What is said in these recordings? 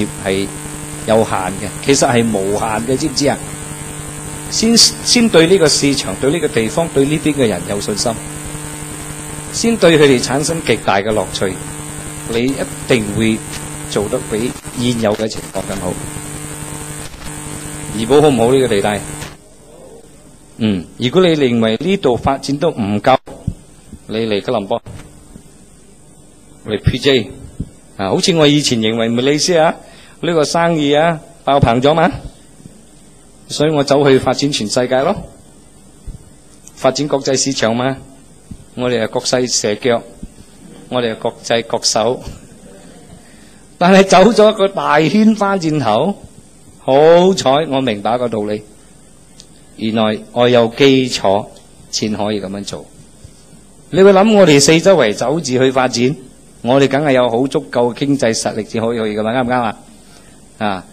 接係有限嘅，其實係無限嘅，知唔知啊？先對呢個市場、對呢個地方、對呢邊嘅人有信心，先對佢哋產生極大嘅樂趣，你一定會做得比現有嘅情況更好。怡保好唔好呢個地帶？如果你認為呢度發展都唔夠，你嚟吉隆坡，嚟 PJ 啊，好似我以前認為馬來西亞呢個生意啊爆棚咗嘛，所以我走去發展全世界咯，發展國際市場嘛。我哋係國際蛇腳，我哋係國際國手，但係走咗一個大圈翻轉頭，好彩我明白一個道理，原來我有基礎先可以咁樣做。你會諗我哋四周圍走住去發展，我哋梗係有好足夠嘅經濟實力先可以去噶嘛？啱唔啱啊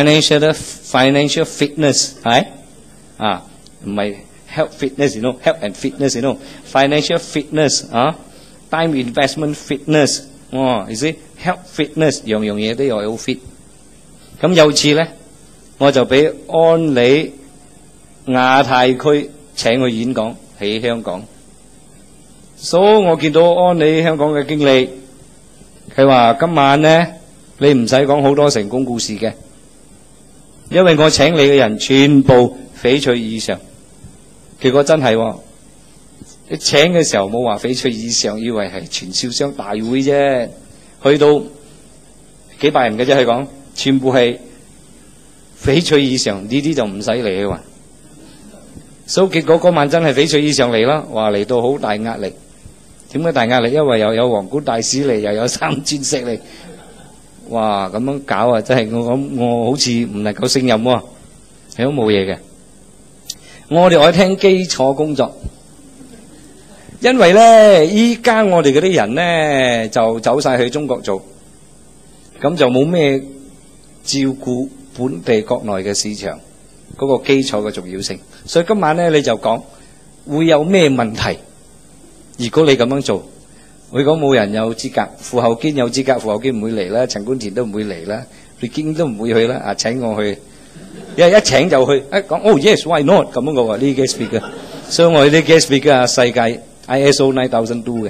？financial fitness 係啊，唔係 health fitness， you know health and fitness， you know financial fitness 啊 ，time investment fitness， 你知 health fitness 樣樣嘢都要好 fit。咁有次咧，我就俾安理亞太區請去演講喺香港，所以我見到安理香港嘅經理，佢話今晚咧你唔使講好多成功故事嘅，因為我請你嘅人全部翡翠以上。結果真係喎，你請嘅時候冇話翡翠以上，以為係傳銷商大會啫，去到幾百人嘅啫，佢講全部係翡翠以上，呢啲就唔使嚟啊！所以結果嗰晚真係翡翠以上嚟啦，話嚟到好大壓力。點解大壓力？因為又有皇冠大使嚟，又有三鑽石嚟，哇！咁樣搞啊，真係我好似唔能夠勝任喎，係都冇嘢嘅。我哋愛聽基礎工作，因為咧依家我哋嗰啲人咧就走晒去中國做，咁就冇咩照顧本地國內嘅市場嗰個基礎嘅重要性。所以今晚咧你就講會有咩問題？如果你咁樣做，會講冇人有資格，傅厚堅有資格，傅厚堅唔會嚟啦，陳冠田都唔會嚟啦，李堅都唔會去啦。啊，請我去。一請就去，一講哦 yes why not 咁樣嘅喎，呢啲 guest speaker， 所以我哋啲 guest speaker 啊，世界 ISO 9002嘅，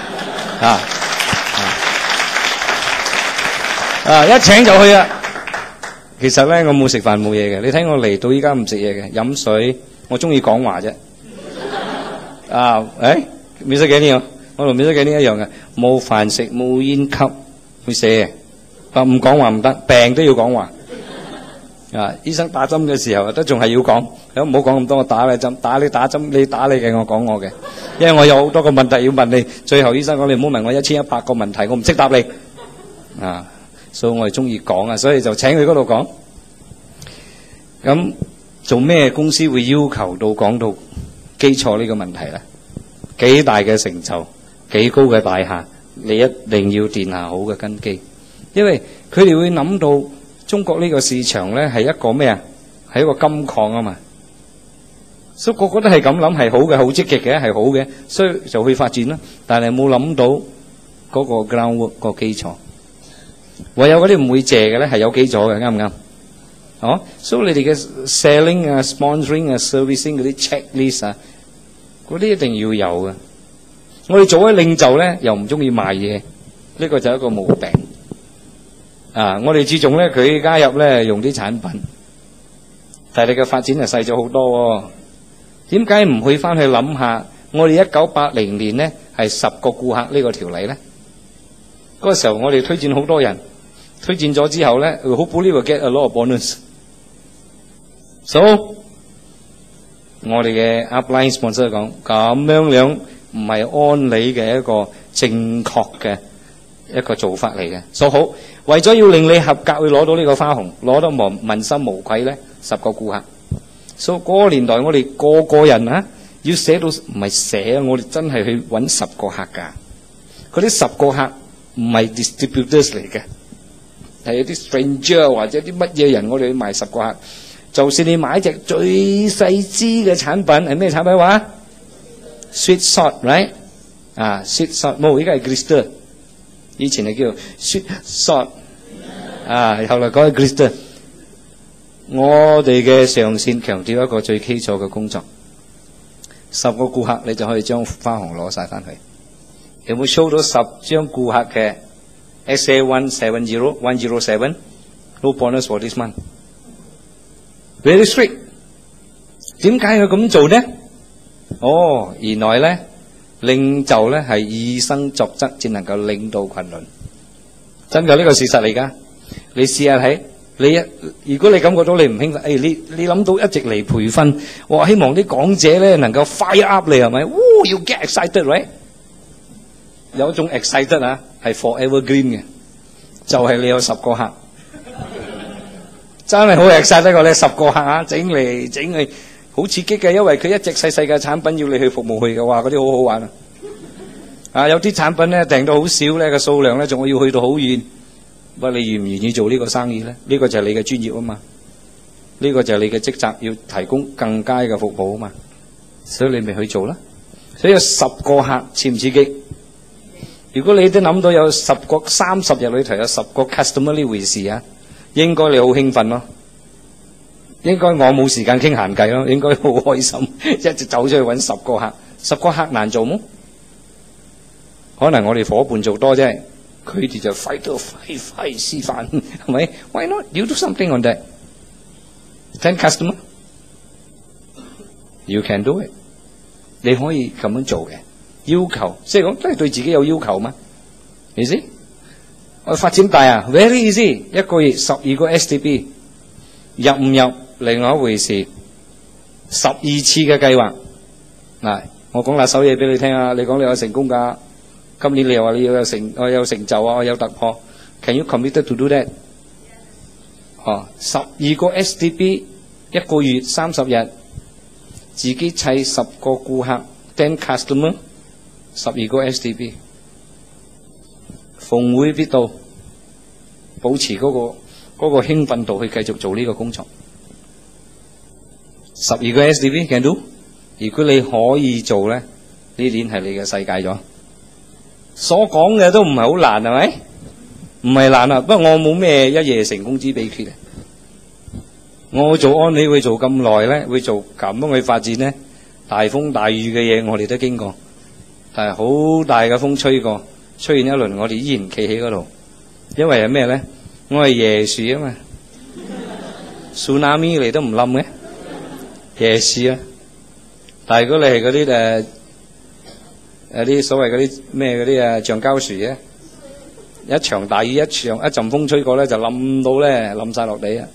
一請就去啊。其實咧我冇食飯冇嘢嘅，你睇我嚟到依家唔食嘢嘅，飲水，我中意講話啫。免息幾年啊？我同免息幾年一樣嘅，冇飯食冇煙吸，會死嘅。唔講話唔得，病都要講話。醫生打針嘅時候都仲係要講，唔好講咁多，我打你針，打你打針，你打你嘅，我講我嘅，因為我有好多個問題要問你。最後醫生講你唔好問我1100個問題，我唔識答你。所以我係中意講啊，所以就請佢嗰度講。咁做咩公司會要求到講到基礎呢個問題咧？幾大嘅成就，幾高嘅大廈，你一定要奠下好嘅根基，因為佢哋會諗到。中國呢個市場咧係一個咩啊？係一個金礦啊嘛，所以個個都係咁諗，係好嘅，好積極嘅，係好嘅，所以就去發展啦。但係冇諗到嗰個 groundwork 個基礎，唯有嗰啲唔會借嘅咧係有基礎嘅，啱唔啱？所以你哋嘅 selling 啊、sponsoring 啊、servicing 嗰啲 checklist 啊，嗰啲一定要有嘅。我哋做咗領袖咧，又唔中意賣嘢，呢個就係一個毛病。我哋注重咧，佢加入咧用啲產品，但係你嘅發展就細咗好多喎。點解唔去翻去諗下？我哋1980年咧係10個顧客呢個條例咧，嗰個時候我哋推薦好多人，推薦咗之後咧，好 believe will get a lot of bonus。So 我哋嘅 upline sponsor 講咁樣唔係安理嘅一個正確嘅一個做法嚟嘅。所以好。為咗要令你合格，會攞到呢個花紅，攞得問心無愧咧，10個顧客。所以嗰個年代，我哋個個人要寫到唔係寫啊，我哋真係去揾10個客㗎。嗰啲10個客唔係 distributors 嚟嘅，係有啲 stranger 或者啲乜嘢人，我哋去賣10個客。就算你買隻最細支嘅產品，係咩產品話 ？Sweet salt，right？ sweet salt，冇，依家係 glister。以前係叫 sweet salt， 後來講起 Glister， 我哋嘅上線強調一個最基礎嘅工作，10個顧客你就可以將花紅攞晒翻去。有冇 show 到10張顧客嘅 SA170107 no bonus for this month？ Very strict。點解佢咁做呢？原來呢，領袖呢係以身作則，先能夠領導群倫。真㗎，呢個事實嚟㗎。你試下睇，如果你感覺到你唔興奮，你諗到一直嚟培訓，我希望啲講者呢能夠 fire up 你係咪？You get excited right？ 有一種 excited 啊，係 forever green 嘅，就係你有10個客，真係好 excited 過你10個客啊，整嚟整去。好刺激嘅，因為佢一隻細細嘅產品要你去服務佢嘅話，嗰啲好好玩啊！有啲產品咧訂到好少咧，個數量咧仲要去到好遠。不過你願唔願意做呢個生意咧？呢個就係你嘅專業啊嘛，呢個就係你嘅職責，要提供更佳嘅服務啊嘛。所以你咪去做啦。所以有10個客刺唔刺激？如果你都諗到有30日裏頭有10個 customer 呢回事啊，應該你好興奮咯。應該我冇時間傾閒偈咯，應該好開心，一直走出去揾10個客，10個客難做麼？可能我哋伙伴做多啫，佢哋就快示範，係咪 ？Why not? You do something on that. 10 customer, you can do it. 你可以咁樣做嘅，要求即係講都係對自己有要求嘛？你知？我發展大啊 ，very easy， 一個月12個 STB， 入唔入？另外一回事，12次嘅計劃。嗱，我講嗱首嘢俾你聽啊！你講你有成功㗎，今年你又話你要有我有成就啊，我有突破。Can you commit to do that？ 12個 STB， 一個月30日，自己砌10個顧客 ，10 customer， 12個 STB， 逢會必到，保持嗰個興奮度去繼續做呢個工作。12個 STB can do， 如果你可以做咧，呢年係你嘅世界咗。所講嘅都唔係好難，係咪？唔係難啊，不過我冇咩一夜成功之秘訣啊。我做安利會做咁耐咧，會做咁樣去發展咧，大風大雨嘅嘢我哋都經過，但係好大嘅風吹過，吹完一輪我哋依然企喺嗰度，因為係咩咧？我係椰樹啊嘛，tsunami 嚟都唔冧嘅。椰樹啊，但係如果你係嗰啲啲所謂嗰啲咩嗰啲橡膠樹嘅，一場大雨一陣風吹過咧，就冧到咧冧晒落地啊！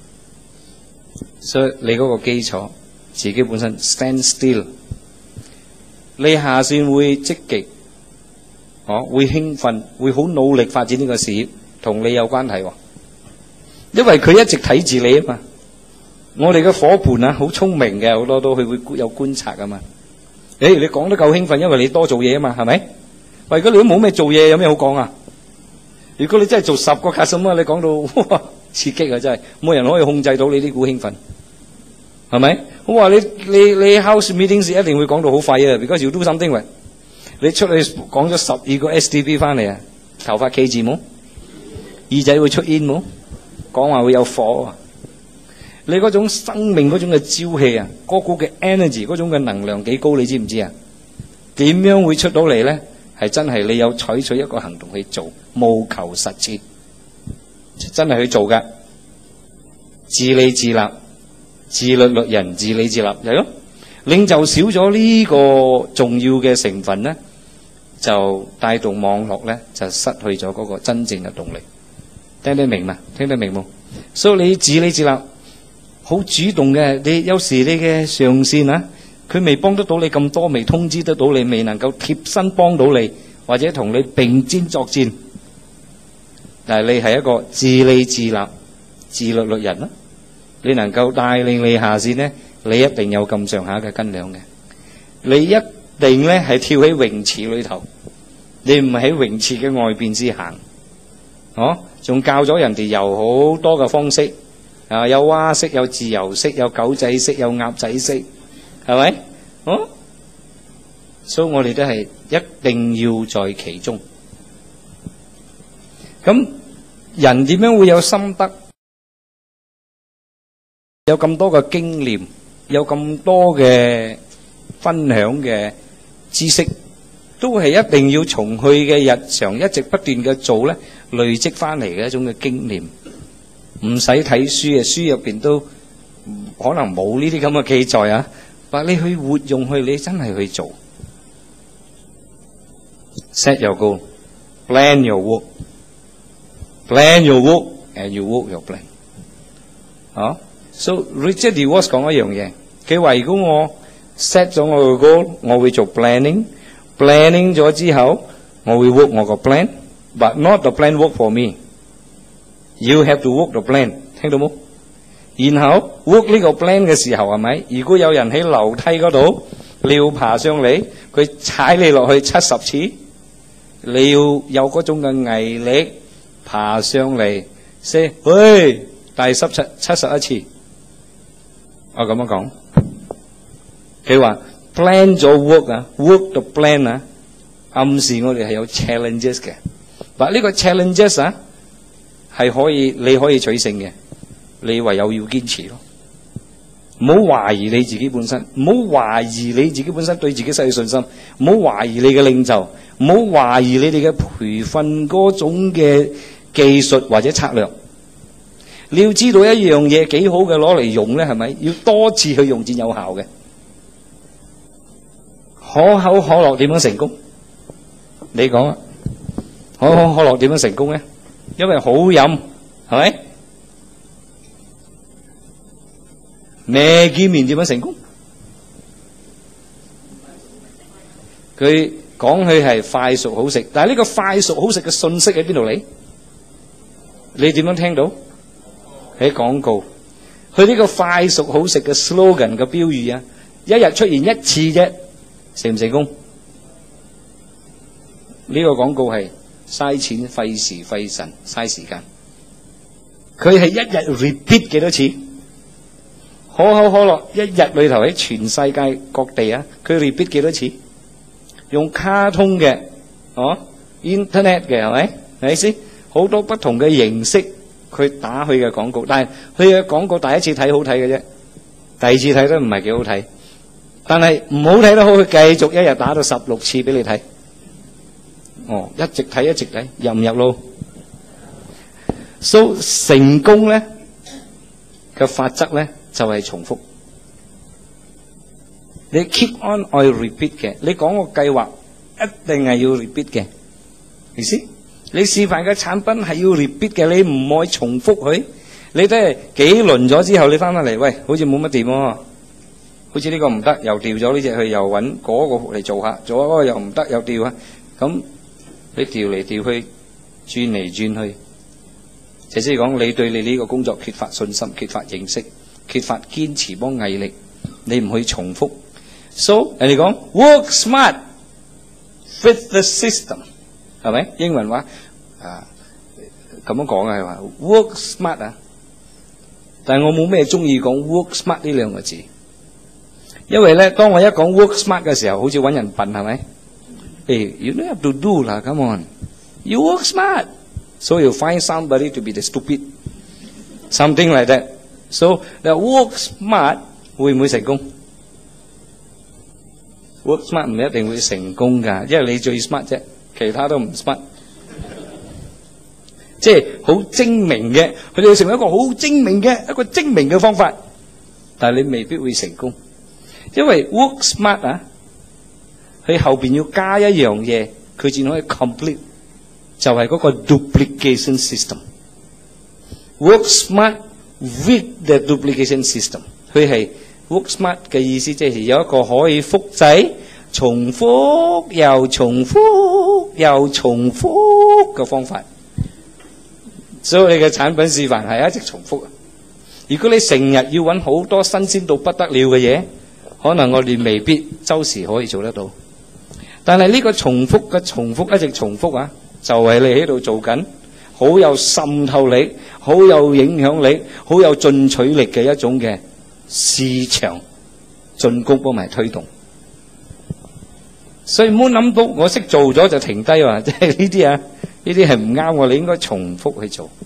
所以你嗰個基礎自己本身 stand still， 你下線會積極，會興奮，會好努力發展呢個事業，同你有關係喎，因為佢一直睇住你啊嘛。我哋嘅伙伴啊，好聰明嘅，好多都佢會有觀察噶嘛。你講得夠興奮，因為你多做嘢啊嘛，係咪？喂，如果你都冇咩做嘢，有咩好講啊？如果你真係做10個 customer， 你講到哇刺激啊，真係冇人可以控制到你呢股興奮，係咪？我話你 house meetings 一定會講到好快啊 ，because you do something with。你出去講咗12個 STB 翻嚟啊，頭髮企住冇，耳仔會出煙冇，講話會有火啊！你嗰種生命嗰種嘅朝氣啊，嗰股嘅 energy 嗰種嘅能量幾高，你知唔知啊？點樣會出到嚟咧？係真係你有採取一個行動去做，務求實踐，真係去做噶。自理自立，自律律人，自理自立係咯。領袖少咗呢個重要嘅成分咧，就帶動網絡咧就失去咗嗰個真正嘅動力。聽得明嘛？聽得明冇？所以你自理自立。好主動嘅，你有時你嘅上線啊，佢未幫得到你咁多，未通知得到你，未能夠貼身幫到你，或者同你並肩作戰。但係你係一個自理自立、自律律人啦，你能夠帶領你下線呢，你一定有咁上下嘅斤兩嘅。你一定咧係跳喺泳池裏頭，你唔喺泳池嘅外邊先行，仲教咗人哋游好多嘅方式。有蛙式，有自由式，有狗仔式，有鴨仔式，係咪？所以我哋都係一定要在其中。咁人點樣會有心得？有咁多嘅經驗，有咁多嘅分享嘅知識，都係一定要從佢嘅日常一直不斷嘅做咧，累積翻嚟嘅一種嘅經驗。唔使睇書嘅，書入邊都可能冇呢啲咁嘅記載啊。但你去活用佢，你真係去做。Set your goal, plan your work, plan your work, and you work your plan。啊 ，so Richard DeWalt 講一樣嘢，佢話如果我 set 咗我個 goal， 我會做 planning 咗之後，我會 work 我個 plan，but not the plan work for me。You have to work the plan， 聽到冇？然後 work 呢個 plan 嘅時候係咪？如果有人喺樓梯嗰度，你要爬上嚟，佢踩你落去70次，你要有嗰種嘅毅力爬上嚟，say 喂，第71次。我咁樣講，佢話 plan 咗 work 啊 ，work the plan 啊，暗示我哋係有 challenges 嘅。嗱呢個 challenges 啊，係可以你可以取勝嘅。你唯有要堅持咯，唔好懷疑你自己本身，唔好懷疑你自己本身對自己失去信心，唔好懷疑你嘅領袖，唔好懷疑你哋嘅培訓嗰種嘅技術或者策略。你要知道一樣嘢幾好嘅攞嚟用咧，係咪？要多次去用先有效嘅。可口可樂點樣成功？你講啊，可口可樂點樣成功咧？因為好飲，係咪？Maggi麵點樣成功？佢講佢係快熟好食，但係呢個快熟好食嘅信息喺邊度嚟？你點樣聽到？喺廣告。佢呢個快熟好食嘅 slogan 嘅標語啊，一日出現一次啫，成唔成功？呢個廣告係嘥錢、費時、費神、嘥時間。佢係一日 repeat 幾多次？可口可樂一日裏頭喺全世界各地啊，佢 repeat 幾多次？用卡通嘅，internet 嘅係咪？係咪先？好多不同嘅形式，佢打佢嘅廣告，但係佢嘅廣告第一次睇好睇嘅啫，第二次睇都唔係幾好睇。但係唔好睇得好，佢繼續一日打到16次俾你睇。一直睇一直睇，入唔入路？So 成功咧嘅法則咧就係重複。你 keep on or repeat 嘅，你講個計劃一定係要 repeat 嘅，意思？你示範嘅產品係要 repeat 嘅，你唔可以重複佢。你都係幾輪咗之後，你翻返嚟，喂，好似冇乜掂喎，好似呢個唔得，又調咗呢隻去，又揾嗰個嚟做下，做嗰個又唔得，又調下，咁你調嚟調去，轉嚟轉去，就即係講你對你呢個工作缺乏信心、缺乏認識、缺乏堅持幫毅力，你唔去重複。So 人哋講 work smart with the system， 係咪？英文話咁樣講嘅係話 work smart 啊，但係我冇咩中意講 work smart 呢兩個字，因為咧當我一講 work smart 嘅時候，好似揾人笨係咪？You don't have to do 啦 ，come on，you work smart，so you find somebody to be the stupid，something like that。So 你 work smart 會唔會成功？Work smart 唔一定會成功㗎，因為你最 smart 啫，其他都唔 smart。即係好精明嘅，佢哋要成為一個好精明嘅方法，但係你未必會成功，因為 work smart 啊，佢後邊要加一樣嘢，佢先可以 complete， 就係嗰個 duplication system。Work smart with the duplication system， 佢係。Work smart 嘅意思即係有一個可以複製、重複又重複又重複嘅方法，所以你嘅產品示範係一直重複。如果你成日要揾好多新鮮到不得了嘅嘢，可能我哋未必周時可以做得到。但係呢個重複嘅重複一直重複啊，就係你喺度做緊好有滲透力、好有影響力、好有進取力嘅一種嘅市場進攻幫埋推動，所以唔好諗到我識做咗就停低話，即係呢啲啊， 呢啲係唔啱我，你應該重複去做。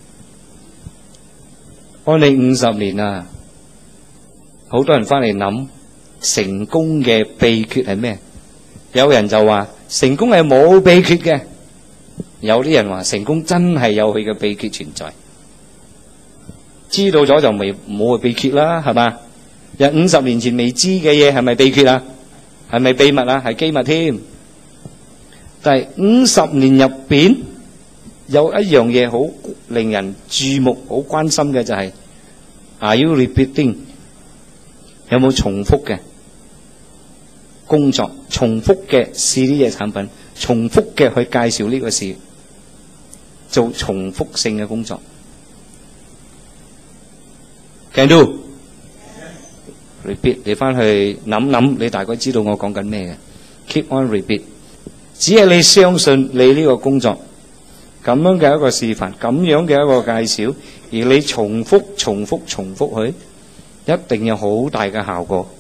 我哋50年啊，好多人翻嚟諗成功嘅秘訣係咩？有人就話成功係冇秘訣嘅，有啲人話成功真係有佢嘅秘訣存在。知道咗就未冇個秘訣啦，係嘛？人50年前未知嘅嘢係咪秘訣啊？係咪秘密啊？係機密添。但係50年入邊有一樣嘢好令人注目、好關心嘅就係 Are you repeating？ 有冇重複嘅工作？重複嘅試呢隻產品，重複嘅去介紹呢個事，做重複性嘅工作。Can do repeat， 你翻去諗諗，你大概知道我講緊咩嘅。Keep on repeat， 只係你相信你呢個工作咁樣嘅一個示範，咁樣嘅一個介紹，而你重複佢，一定有好大嘅效果。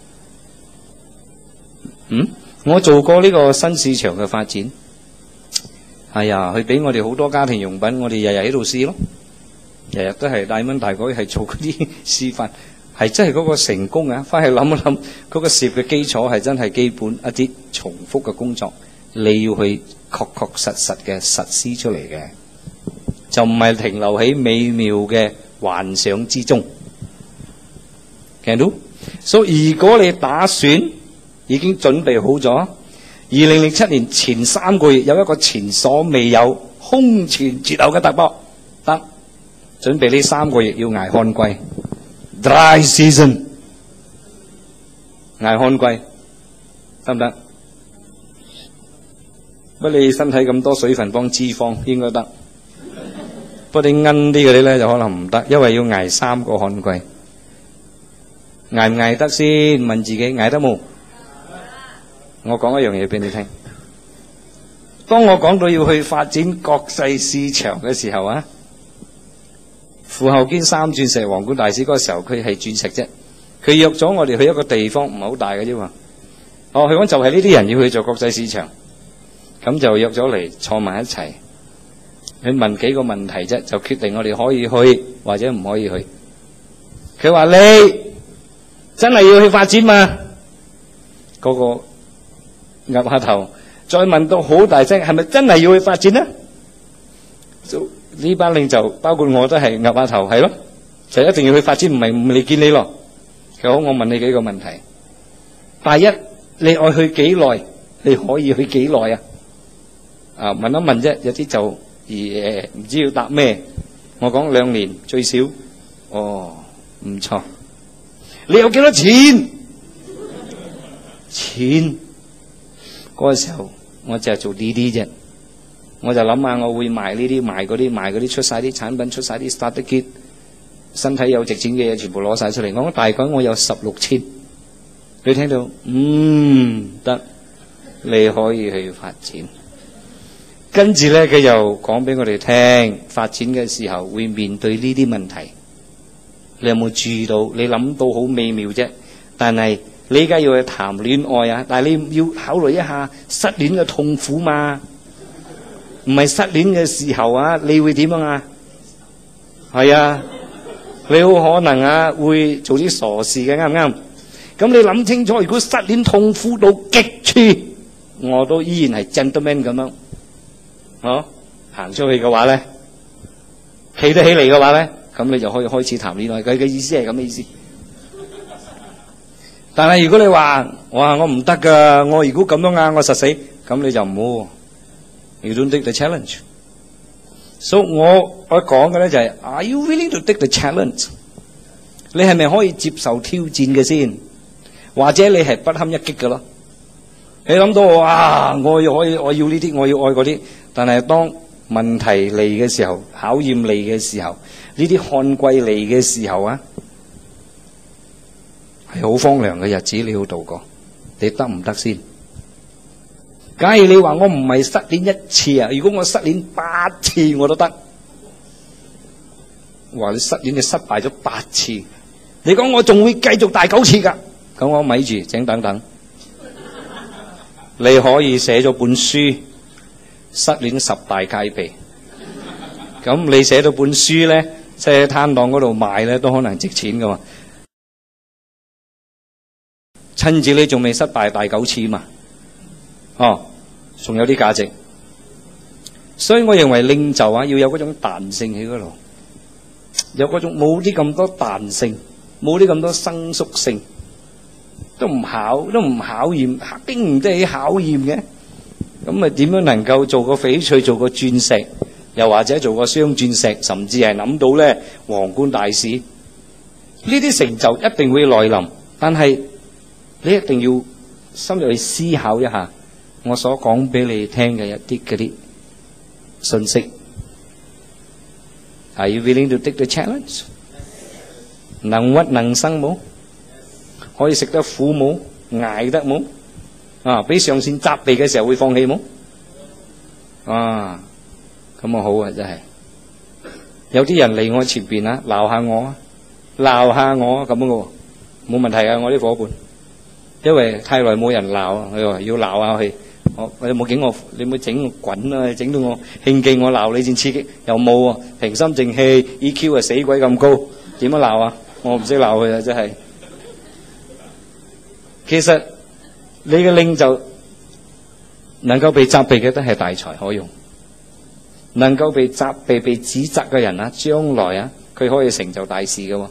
我做過呢個新市場嘅發展，係啊，佢俾我哋好多家庭用品，我哋日日喺度試咯。日日都係大蚊大鬼係做嗰啲示範，係真係嗰個成功啊！翻去諗一諗，嗰個事業嘅基礎係真係基本一啲重複嘅工作，你要去確實嘅實施出嚟嘅，就唔係停留喺美妙嘅幻想之中。見到？所以如果你打算已經準備好咗，2007年前3個月有一個前所未有、空前絕後嘅突破，得。準備呢3個月要捱旱季 ，dry season， 捱旱季得唔得？不你身體咁多水分幫脂肪應該得，不過你奀啲嗰啲咧就可能唔得，因為要捱3個旱季，捱唔捱得先？問自己捱得冇？我講一樣嘢俾你聽，當我講到要去發展國際市場嘅時候啊。傅后堅3鑽石皇冠大使嗰個時候，佢係鑽石啫。佢約咗我哋去一個地方，唔係好大嘅啫嘛。佢講就係呢啲人要去做國際市場，咁就約咗嚟坐埋一齊，佢問幾個問題啫，就決定我哋可以去或者唔可以去。佢話你真係要去發展嘛？嗰個岌下頭，再問到好大聲，係咪真係要去發展呢？呢班領袖包括我都係岌下頭，係咯，就一定要去發展，唔係唔嚟見你咯。好，我問你幾個問題。第一，你愛去幾耐？你可以去幾耐啊？問一問啫，有啲就唔知要答咩。我講2年最少。唔錯。你有幾多錢？錢嗰個時候我就係做呢啲啫。我就諗下，我會賣呢啲賣嗰啲，出晒啲產品，出晒啲 starter kit， 身體有值錢嘅嘢全部攞晒出嚟。我大概我有16千，你聽到？得，你可以去發展。跟住咧，佢又講俾我哋聽，發展嘅時候會面對呢啲問題。你有冇注意到？你諗到好美妙啫，但係你而家要去談戀愛啊，但係你要考慮一下失戀嘅痛苦嘛。唔係失戀嘅時候啊，你會點啊？係啊，你好可能啊會做啲傻事嘅，啱唔啱？咁你諗清楚，如果失戀痛苦到極處，我都依然係 gentleman 咁樣，行出去嘅話咧，企得起嚟嘅話咧，咁你就可以開始談戀愛。佢嘅意思係咁嘅意思。但係如果你話我唔得噶，我如果咁樣啊，我實死，咁你就唔好。You don't take the challenge。所以我講嘅咧就係 Are you willing to take the challenge？ 你係咪可以接受挑戰嘅先？或者你係不堪一擊嘅咯？你諗到我要呢啲，我要愛嗰啲，但係當問題嚟嘅時候，考驗嚟嘅時候，呢啲旱季嚟嘅時候啊，係好荒涼嘅日子，你要度過，你得唔得先？假如你話我唔係失戀1次啊，如果我失戀8次我都得。話你失戀你失敗咗8次，你講我仲會繼續第9次噶，咁我咪住，請等等。你可以寫咗本書， 失戀10大戒備。咁你寫到本書咧，即係喺攤檔嗰度賣咧，都可能值錢噶嘛。親子你仲未失敗大9次嘛？哦，仲有啲價值。所以我認為領袖啊，要有嗰種彈性喺嗰度，有嗰種冇啲咁多彈性，冇啲咁多生疏性，都唔考驗，經唔得起考驗嘅。咁咪點樣能夠做個翡翠，做個鑽石，又或者做個雙鑽石，甚至係諗到咧皇冠大使？呢啲成就一定會來臨，但係你一定要深入去思考一下我所講俾你聽嘅一啲嗰啲信息。Are you willing to take the challenge？ 能屈能伸冇？可以食得苦冇？捱得冇？啊！俾上線責備嘅時候會放棄冇？啊！咁啊好啊，真係有啲人嚟我前邊啊，鬧下我啊，鬧下我咁樣嘅喎，冇問題啊！我啲伙伴，因為太耐冇人鬧啊，佢話要鬧下佢。我有冇整我？你冇整我滾啊！整到我興勁，我鬧你先刺激，又冇啊！平心靜氣 ，EQ 啊死鬼咁高，點樣鬧啊？我唔識鬧佢啊！真係。其實你嘅領袖能夠被責備嘅都係大才可用，能夠被責備、被指責嘅人啊，將來啊，佢可以成就大事嘅。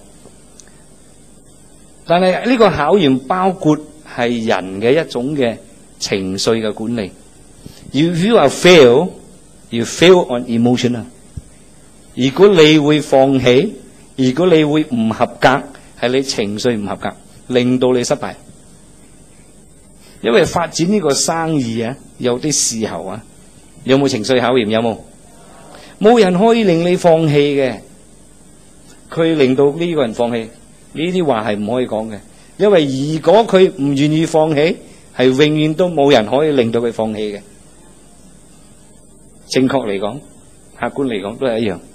但係呢個考驗包括係人嘅一種嘅情緒嘅管理。If you are fail, you fail on emotion 啊。如果你會放棄，如果你會唔合格，係你情緒唔合格，令到你失敗。因為發展呢個生意啊，有啲時候啊，有冇情緒考驗？有冇？冇人可以令你放棄嘅，佢令到呢個人放棄，呢啲話係唔可以講嘅。因為如果佢唔願意放棄，係永遠都冇人可以令到佢放棄嘅。正確嚟講，客觀嚟講都係一樣。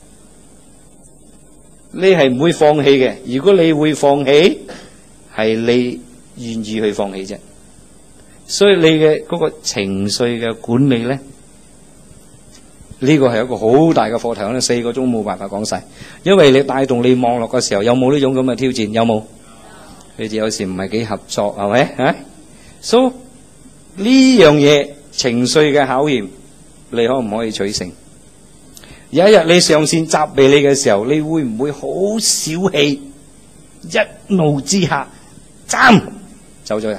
你係唔會放棄嘅。如果你會放棄，係你願意去放棄啫。所以你嘅嗰個情緒嘅管理咧，呢個係一個好大嘅課題，可能4個鐘冇辦法講晒。因為你帶動你網絡嘅時候，有冇呢種咁嘅挑戰？有冇？你哋有時唔係幾合作，係咪啊？So 呢樣嘢情緒嘅考驗，你可唔可以取勝？有一日你上線責備你嘅時候，你會唔會好小氣，一怒之下斬走咗人？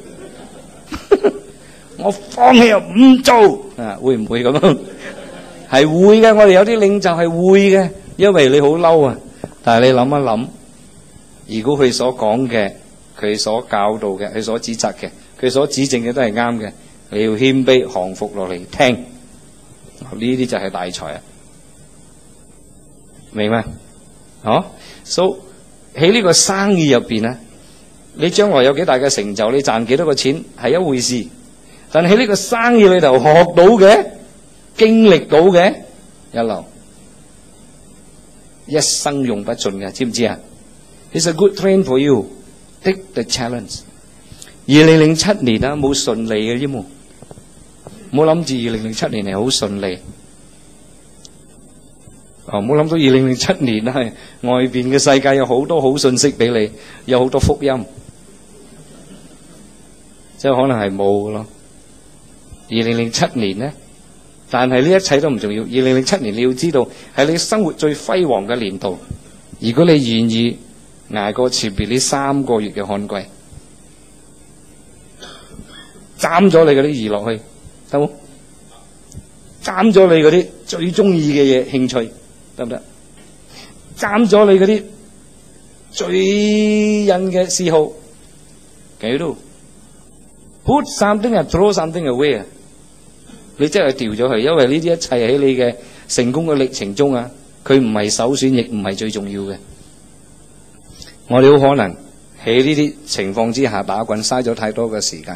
我放棄又唔做啊？會唔會咁樣？係會嘅，我哋有啲領袖係會嘅，因為你好嬲啊。但係你諗一諗，如果佢所講嘅、佢所教導嘅、佢所指責嘅、佢所指正嘅都係啱嘅，你要謙卑降服落嚟聽，呢啲就係大才啊！明咩？哦，so 喺呢個生意入邊咧，你將來有幾大嘅成就，你賺幾多個錢係一回事，但係喺呢個生意裏頭學到嘅、經歷到嘅一流，一生用不盡嘅，知唔知啊？ It's a good train for you. Take the challenge. 2007年啊，冇順利嘅啫嘛，冇諗住2007年係好順利。冇諗到2007年啊，外邊嘅世界有好多好信息俾你，有好多福音，即係可能係冇嘅咯。2007年咧，但係呢一切都唔重要。2007年你要知道係你生活最輝煌嘅年度。如果你願意捱過前邊呢3個月嘅旱季，斬咗你嗰啲娛樂去，得冇？斬咗你嗰啲最中意嘅嘢興趣，得唔得？斬咗你嗰啲最癮嘅嗜好，幾多 ？Put something and throw something away。你真係掉咗佢，因為呢啲一切喺你嘅成功嘅歷程中啊，佢唔係首選，亦唔係最重要嘅。我哋好可能喺呢啲情況之下打滾，嘥咗太多嘅時間。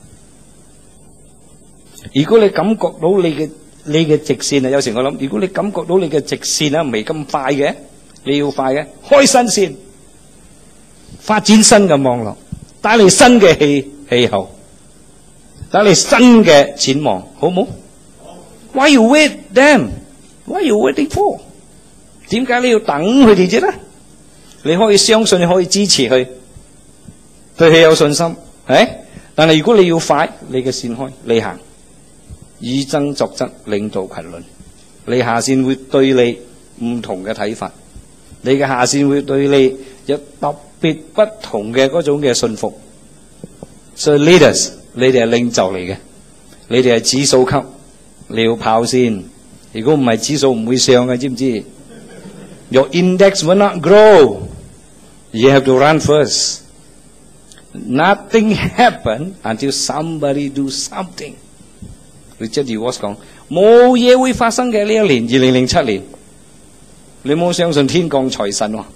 如果你感覺到你嘅直線啊，有時我諗，如果你感覺到你嘅直線啊唔係咁快嘅，你要快嘅，開新線，發展新嘅網絡，帶嚟新嘅氣候，帶嚟新嘅展望，好唔好？ Why you wait them? What are you waiting for? 點解你要等佢哋啫咧？你可以相信，你可以支持佢，對佢有信心，係。但係如果你要快，你嘅線開，你行，以爭作則，領導群倫。你下線會對你唔同嘅睇法，你嘅下線會對你有特別不同嘅嗰種嘅信服。所以 leaders， 你哋係領袖嚟嘅，你哋係指數級，你要跑先。如果唔係，指數唔會上嘅，知唔知 ？Your index will not grow. You have to run first. Nothing happen until somebody do something. Richard DeVos 講，冇嘢會發生嘅呢一年，2007年，你冇相信天降財神喎，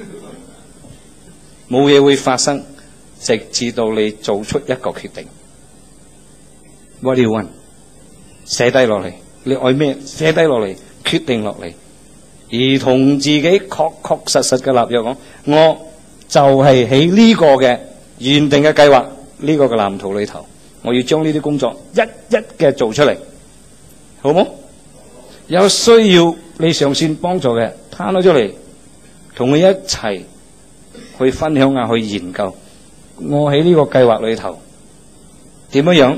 冇嘢會發生，直至到你做出一個決定。What do you want？ 寫低落嚟。你愛咩？寫低落嚟，決定落嚟，而同自己確確實實嘅立約講，我就係喺呢個嘅原定嘅計劃，呢個嘅藍圖裏頭，我要將呢啲工作一一嘅做出嚟，好冇？有需要你上線幫助嘅，攤咗出嚟，同佢一齊去分享下，去研究，我喺呢個計劃裏頭點樣？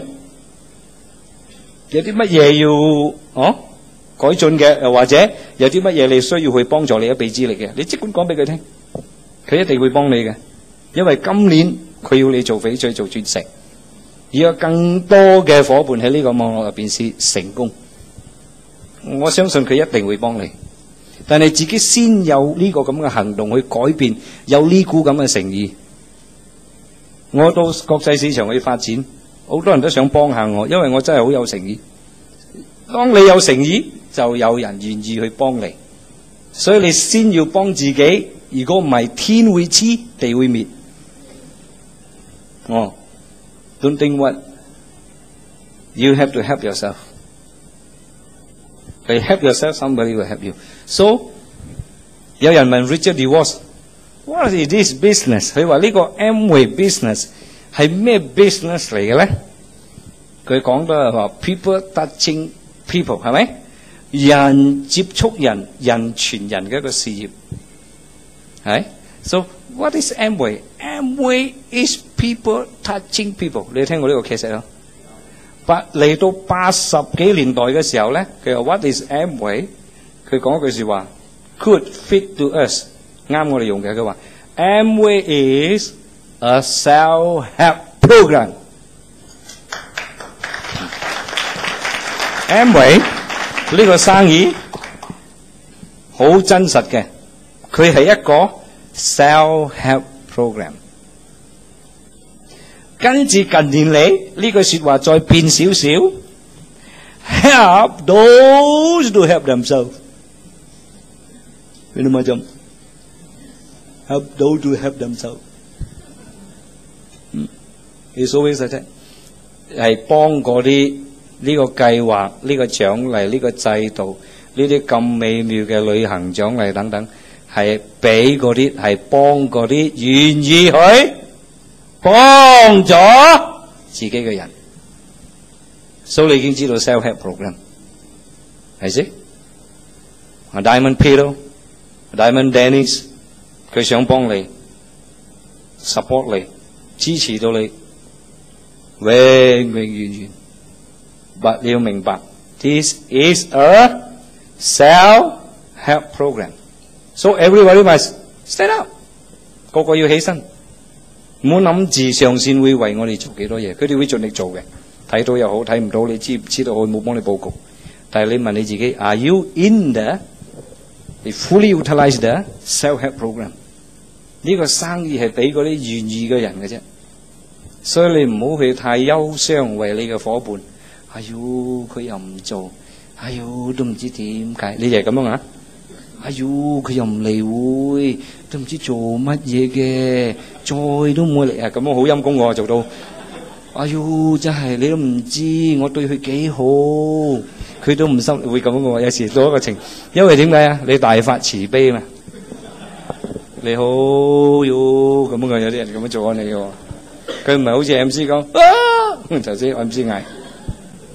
有啲乜嘢要改進嘅，又或者有啲乜嘢你需要去幫助你一臂之力嘅，你即管講俾佢聽，佢一定會幫你嘅。因為今年佢要你做翡翠做鑽石，而有更多嘅伙伴喺呢個網絡入邊是成功，我相信佢一定會幫你。但係自己先有呢個咁嘅行動去改變，有呢股咁嘅誠意。我到國際市場去發展。好多人都想幫下我，因為我真係好有誠意。當你有誠意，就有人願意去幫你。所以你先要幫自己，如果唔係，天會黐，地會滅。Don't think what you have to help yourself. If you help yourself, somebody will help you. So 有人問 Richard DeVos, what is this business？ 佢話呢個 Amway business。係咩 business 嚟嘅咧？佢講到係話 people touching people， 係咪？人接觸人，人傳人嘅一個事業，係。So what is Amway？ Amway is people touching people。你聽過呢個劇集咯？嚟到80幾年代嘅時候咧，佢話 What is Amway？ 佢講一句説話 ，could fit to us， 啱我哋用嘅。佢話 Amway is a self-help program. Amway 呢個生意好真實嘅，佢係一個 self-help program。跟住近年嚟呢句説話再變少少 ，help those to help themselves。你諗下就 help those to help themselves。It's always like that， 係幫嗰啲呢個計劃、呢個獎勵、呢個制度、呢啲咁美妙嘅旅行獎勵等等，係俾嗰啲係幫嗰啲願意去幫咗自己嘅人。所以你已經知道 self-help program 係先。Diamond Peter、Diamond Dennis， 佢想幫你 support 你，支持到你。永永遠遠，但你要明白 ，this is a self-help program. So everybody must stand up， 個個要起身，唔好諗住上線會為我哋做幾多嘢，佢哋會盡力做嘅，睇到又好，睇唔到你知唔知道？我冇幫你報告，但係你問你自己 ，Are you in the fully utilize the self-help program？ 呢個生意係俾嗰啲願意嘅人嘅啫。所以你唔好去太憂傷為你嘅伙伴，哎喲佢又唔做，哎喲都唔知點解，你就係咁樣啊？哎喲佢又唔嚟會，都唔知做乜嘢嘅，再都唔會嚟啊！咁樣好陰功喎，做到，哎喲真係你都唔知我對佢幾好，佢都唔收，會咁樣嘅喎。有時做一個情，因為點解啊？你大發慈悲嘛，你好喲咁樣嘅，有啲人咁樣做緊你嘅喎。佢唔係好似 MC 講，頭先 MC 嗌，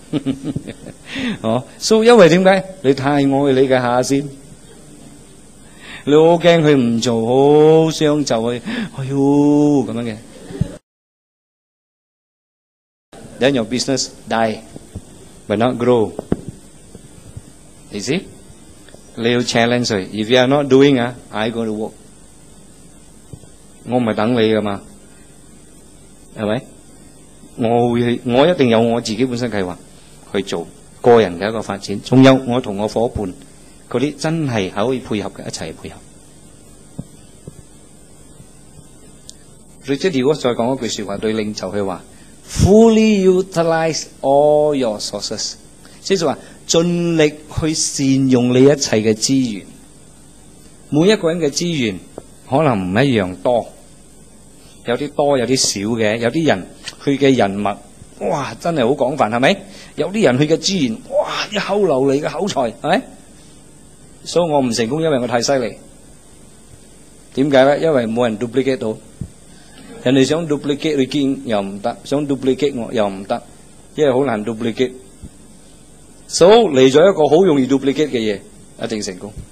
哦，所以因為點解？你太愛你嘅下線，你好驚佢唔做，好想就去，哎呦咁樣嘅。Then your business die, but not grow. You see? 你要 challenge 佢。If you are not doing I go to work. 我唔係等你噶嘛，係咪？我一定有我自己本身計劃去做個人嘅一個發展，仲有我同我伙伴嗰啲真係可以配合嘅，一齊配合。Richard Dawkins再講一句說話對領袖佢話 ：Fully utilize all your sources， 即係話盡力去善用你一切嘅資源。每一個人嘅資源可能唔一樣多，有啲多，有啲少嘅。有啲人佢嘅人脈，哇，真係好廣泛，係咪？有啲人佢嘅資源，哇，一口流利嘅口才，係咪？所以我唔成功，因為我太犀利。點解咧？因為冇人 duplicate 到。人哋想 duplicate 你見又唔得，想 duplicate 我又唔得，因為好難 duplicate。所以嚟咗一個好容易 duplicate 嘅嘢，一定成功。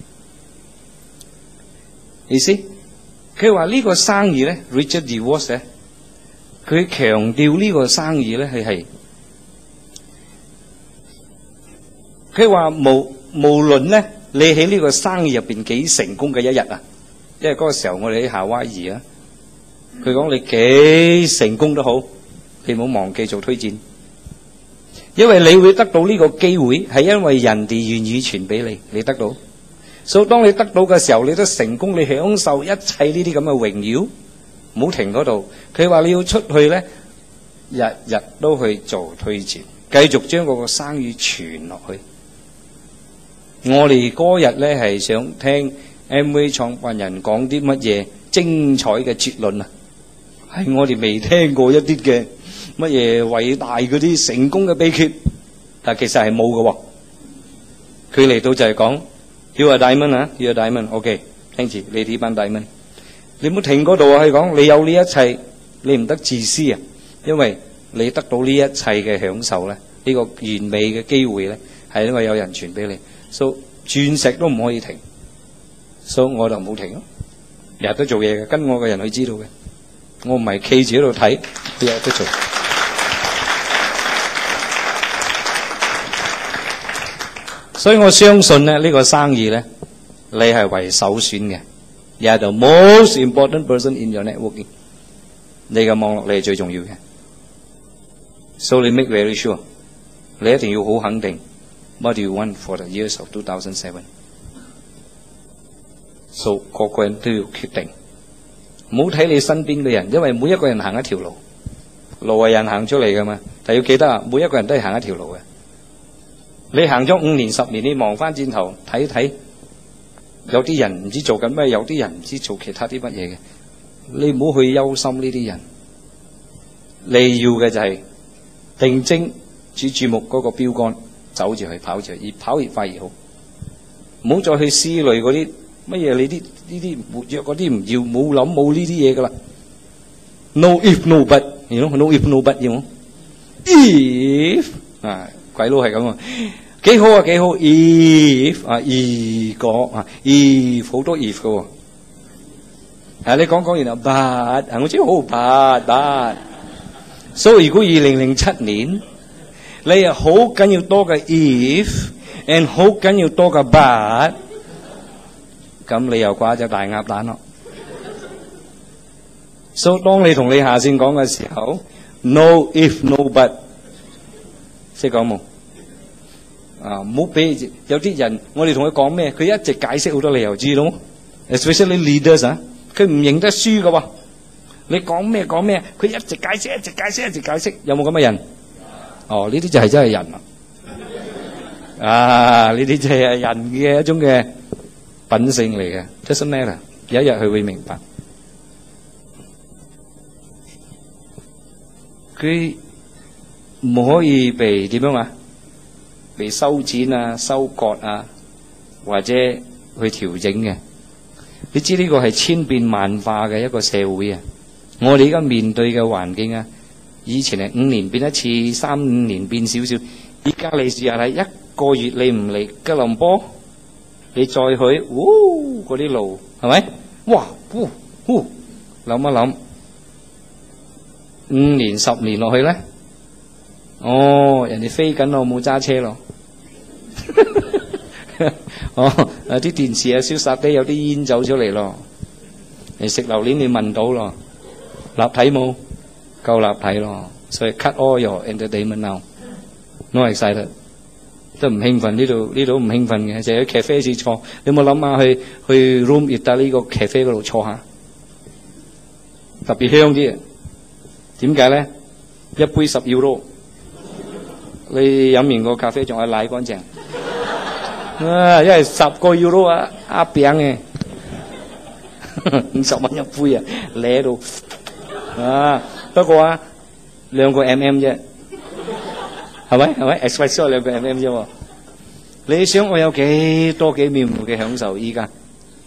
意思？佢話呢個生意咧 ，Richard Dawkins 咧，佢強調呢個生意咧係佢話無論咧你喺呢個生意入邊幾成功嘅一日啊，因為嗰個時候我哋喺夏威夷啊，佢講你幾成功都好，你唔好忘記做推薦，因為你會得到呢個機會，係因為人哋願意傳俾你，你得到。所以當你得到嘅時候，你都成功，你享受一切呢啲咁嘅榮耀，唔好停嗰度。佢話你要出去咧，日日都去做推薦，繼續將嗰個生意傳落去。我哋嗰日咧係想聽 MV 創辦人講啲乜嘢精彩嘅哲論啊，係我哋未聽過一啲嘅乜嘢偉大嗰啲成功嘅秘訣，但其實係冇嘅喎。佢嚟到就係講。You are diamond 啊 ，You are diamond。OK， 聽住你呢班 diamond， 你唔好停嗰度啊！係講你有呢一切，你唔得自私啊，因為你得到呢一切嘅享受咧，呢個完美嘅機會咧，係因為有人傳俾你。所以鑽石都唔可以停，所以我就冇停咯，日日都做嘢嘅，跟我嘅人去知道嘅，我唔係企住喺度睇，日日都做。所以我相信咧，呢個生意咧，你係為首選嘅。You are the most important person in your networking。你嘅網絡你係最重要嘅。So you make very sure， 你一定要好肯定。What do you want for the years of 2007？ So 個個人都要決定，唔好睇你身邊嘅人，因為每一個人行一條路，路係人行出嚟噶嘛。但要記得啊，每一個人都係行一條路嘅。你行咗5年10年，你望翻轉頭睇睇，有啲人唔知做緊咩，有啲人唔知做其他啲乜嘢嘅。你唔好去憂心呢啲人，你要嘅就係定睛注目嗰個標杆，走住去，跑住去，越跑越快越好。唔好再去思慮嗰啲乜嘢，你啲呢啲活躍嗰啲唔要，冇諗冇呢啲嘢噶啦。No if no but， you know, no if no but， you know? If 啊。鬼佬係咁啊，幾好啊幾好 ，if 啊 if 個啊 if 好多 if 嘅喎，你講完啊 but 我知好 but， 所以如果2007年你係好緊要多嘅 if，and 好緊要多嘅 but， 咁你又掛隻大鴨蛋咯。所以當你同你下線講嘅時候 ，no if no but。識講冇？唔好俾有啲人，我哋同佢講咩，佢一直解釋好多理由，知道冇 ？Especially leaders 啊，佢唔認得輸噶喎。你講咩，佢一直解釋，一直解釋，有冇咁嘅人？哦，呢啲就係真係人啊！呢啲就係人嘅一種嘅品性嚟嘅 ，doesn't matter。有一日佢會明白，佢唔可以被點樣啊？被修剪啊、收割啊，或者去調整嘅。你知呢個係千變萬化嘅一個社會啊！我哋而家面對嘅環境啊，以前係5年變一次，3、5年變少少， 而家你試下睇，一個月你唔嚟吉隆坡，你再去，嗰啲路係咪？哇，諗一諗，5年10年落去咧，人哋飛緊咯，冇揸車咯。啲電視啊，燒殺啲有啲煙走出嚟咯。你食榴蓮你聞到咯，立體冇？夠立體咯。所以 cut all your entertainment now。No excited， 都唔興奮，呢度唔興奮嘅，就喺咖啡室坐。你有冇諗下去 room Ita 呢個咖啡嗰度坐下？特別香啲嘅。點解咧？一杯10 euro， 你飲完個咖啡仲係奶乾淨。因為10個 euro 啊，鴨餅嘅，50蚊一杯啊，舐到不過啊，2個 mm 啫，係咪 ？Espresso 2個 mm 啫喎。你想我有幾面目嘅享受？依家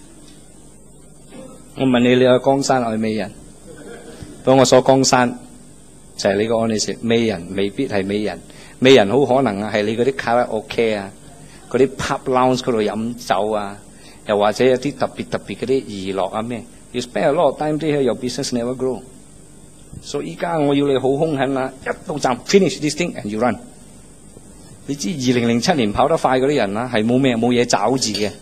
我問你，你去江山愛美人？當我所江山就係你個安利食美人，未必係美人，美人好可能係你嗰啲卡拉 OK 啊。嗰啲 pub lounge 嗰度飲酒啊，又或者有啲特別嗰啲娛樂啊咩 ，you spend a lot of time there, your business never grow。所以依家我要你好兇狠啦，一到站 finish this thing and you run。你知2007年跑得快嗰啲人啦，係冇嘢找字嘅。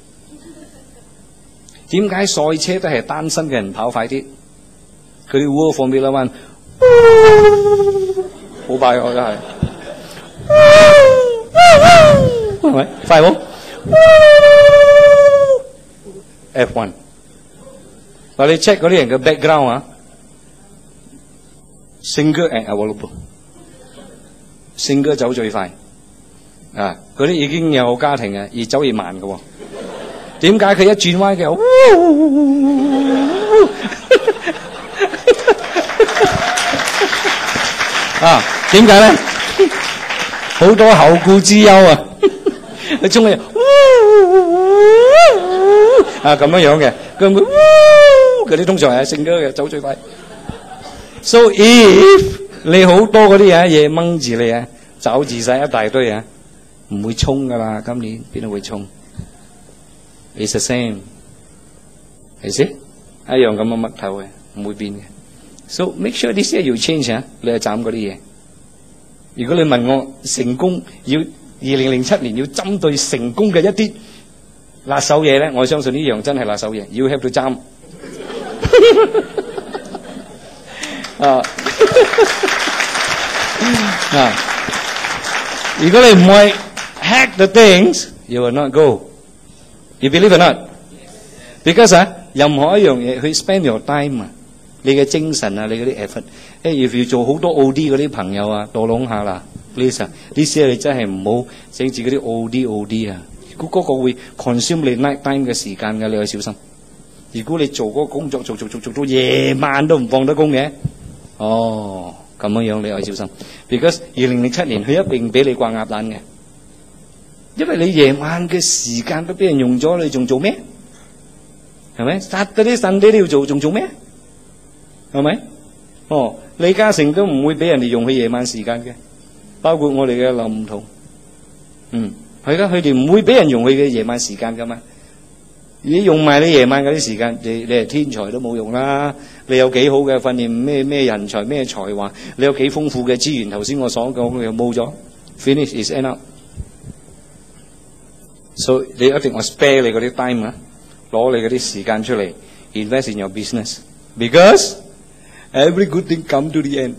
點解賽車都係單身嘅人跑快啲？佢哋 World Formula One 好快我真係。係咪快冇 ？F1， 嗱你 check 嗰啲人嘅 background 啊 ，single and available，single 走最快啊！嗰啲已經有家庭嘅，越走越慢嘅喎。點解佢一轉彎嘅？點解咧？好多後顧之憂啊！你中意咁樣嘅，佢會嗰啲通常係性格嘅走最快。So if 你好多嗰啲嘢掹住你啊，找住晒一大堆啊，唔會衝噶啦，今年邊度會衝 ？It's the same， 係先一樣咁嘅嘜頭嘅，唔會變嘅。So make sure this year you change 啊，你係斬嗰啲嘢。如果你問我成功要2007年要針對成功嘅一啲辣手嘢咧，我相信呢樣真係辣手嘢。You have to 針如果你唔會 hack the things, you will not go. You believe or not? Because 任何一樣嘢去 spend your time 啊，你嘅精神啊，你嗰啲 effort。if you 做好多 OD 嗰啲朋友啊，多諗下啦。Please 呢啲你真係唔好整住嗰啲 OD 啊！嗰個會 consume 你 night time 嘅時間嘅，你要小心。如果你做嗰個工作做到夜晚都唔放得工嘅，咁樣你要小心。Because 2007年佢一定俾你掛鴨蛋嘅，因為你夜晚嘅時間都俾人用咗，你仲做咩？係咪？殺嗰啲腎你都要做，仲做咩？係咪？李嘉誠都唔會俾人哋用佢夜晚時間嘅。包括我哋嘅林同，係噶，佢哋唔會俾人用佢嘅夜晚時間噶嘛。你用埋你夜晚嗰啲時間，你係天才都冇用啦。你有幾好嘅訓練，咩人才，咩才華，你有幾豐富嘅資源，頭先我所講嘅又冇咗 ，finish is end up。所以你一定要 spare 你嗰啲 time 啊，攞你嗰啲時間出嚟 invest in your business，because every good thing come to the end。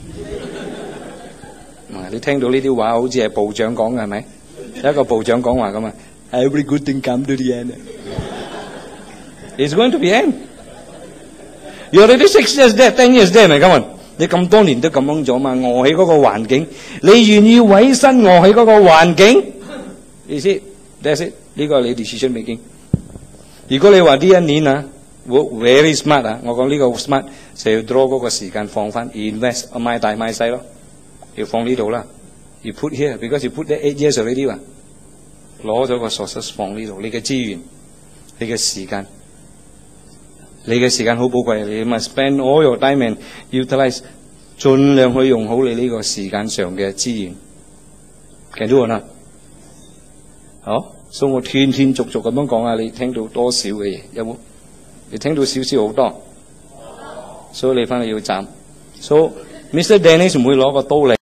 你聽到呢啲話好似係部長講嘅係咪？有一個部長講話咁啊 ，Every good thing come to the end. It's going to be end. You already 6 years there, 10 years there，咪咁你咁多年都咁樣咗嘛？餓喺嗰個環境，你願意委身餓喺嗰個環境？意思 ，that's it。呢個係你 decision making。如果你話呢一年啊 ，very smart 啊，我講呢個 smart 就要 draw 嗰個時間放翻 invest， 買大買細咯。要放呢度啦，要 put here because you put that 8 years already 啊，攞咗個 sources 放呢度，你嘅資源，你嘅時間，你嘅時間好寶貴，你 must spend all your time and utilize， 盡量去用好你呢個時間上嘅資源。 Can do or not？ 好，所以我斷斷續續咁樣講啊，你聽到多少嘅嘢有冇？你聽到少少好多，所以你翻去要斬。所以 Mr. Dennis 唔會攞個刀嚟，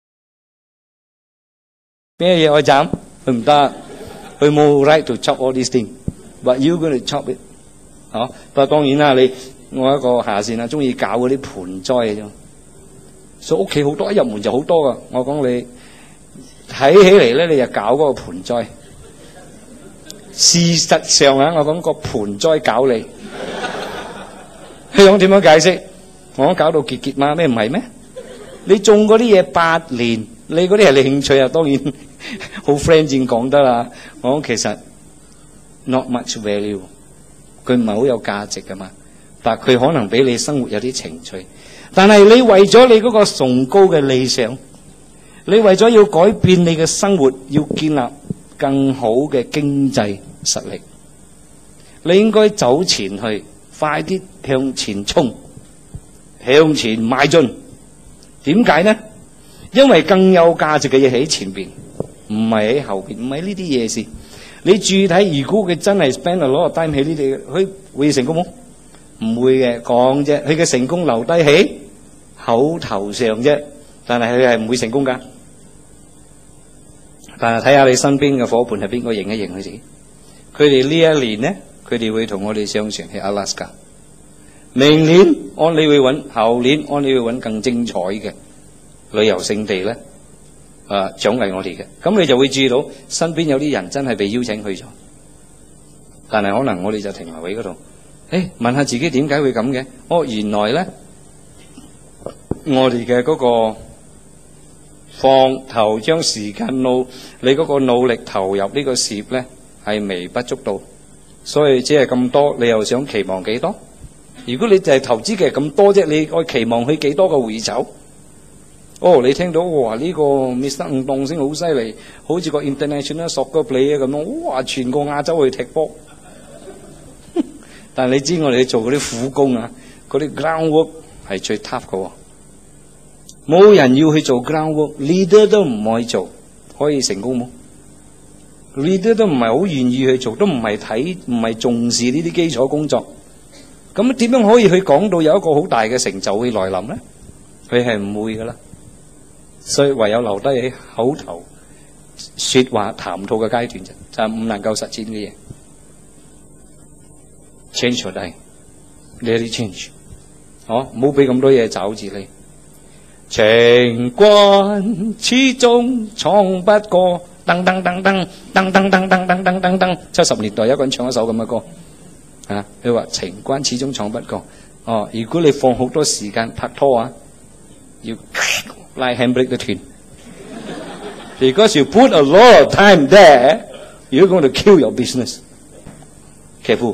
咩嘢可以斬？佢唔得，佢冇 right to chop all these things，but you going to chop it。好，不過當然啦，我一個下線啊，中意搞嗰啲盆栽嘅啫。所以屋企好多，一入門就好多噶。我講你睇起嚟咧，你就搞嗰個盆栽。事實上啊，我講個盆栽搞你，你講點樣解釋？我講搞到結結嘛，咩唔係咩？你種嗰啲嘢8年，你嗰啲係你興趣啊，當然好 friend 先講得啦。我講其實 not much value， 佢唔係好有價值噶嘛，但佢可能俾你生活有啲情趣。但係你為咗你嗰個崇高嘅理想，你為咗要改變你嘅生活，要建立更好嘅經濟實力，你應該走前去，快啲向前衝，向前邁進。點解呢？因為更有價值嘅嘢喺前邊，唔係喺後邊，唔係呢啲嘢事。你注意睇，如果佢真係 spend a lot of time 喺呢啲，佢會成功冇？唔會嘅，講啫。佢嘅成功留低喺口頭上啫，但係佢係唔會成功噶。但係睇下你身邊嘅伙伴係邊個，認一認佢自己。佢哋呢一年呢，佢哋會同我哋上船去阿拉斯加。明年安理會揾，後年安理會揾更精彩嘅旅遊勝地咧，獎勵我哋嘅。咁你就會注意到身邊有啲人真係被邀請去咗，但係可能我哋就停留喺嗰度。問下自己點解會咁嘅？哦，原來咧我哋嘅嗰個放頭將時間你嗰個努力投入呢個事業咧係微不足道，所以只係咁多，你又想期望幾多？如果你就係投資嘅咁多啫，你愛期望佢幾多個回酬？哦，你聽到哇呢個 Mr. 吳棟星好犀利，好似個 international soccer player 咁樣，哇全個亞洲去踢波。但係你知我哋做嗰啲苦工啊，嗰啲 ground work 係最 tough 嘅喎，冇人要去做 ground work，leader 都唔可以做，可以成功冇？leader 都唔係好願意去做，都唔係重視呢啲基礎工作。咁點樣可以去講到有一個好大嘅成就會來臨咧？佢係唔會噶啦，所以唯有留低喺口頭說話談吐嘅階段啫，就係唔能夠實踐嘅嘢。change 咗低，你有啲 change， 唔好俾咁多嘢找住你。情關始終闖不過，噔噔噔噔噔噔噔噔噔噔噔噔。70年代有一個人唱一首咁嘅歌。佢話情關始終闖不過。如果你放好多時間拍拖啊，要拉 handbrake 都斷。Because you put a lot of time there, you're going to kill your business. Careful.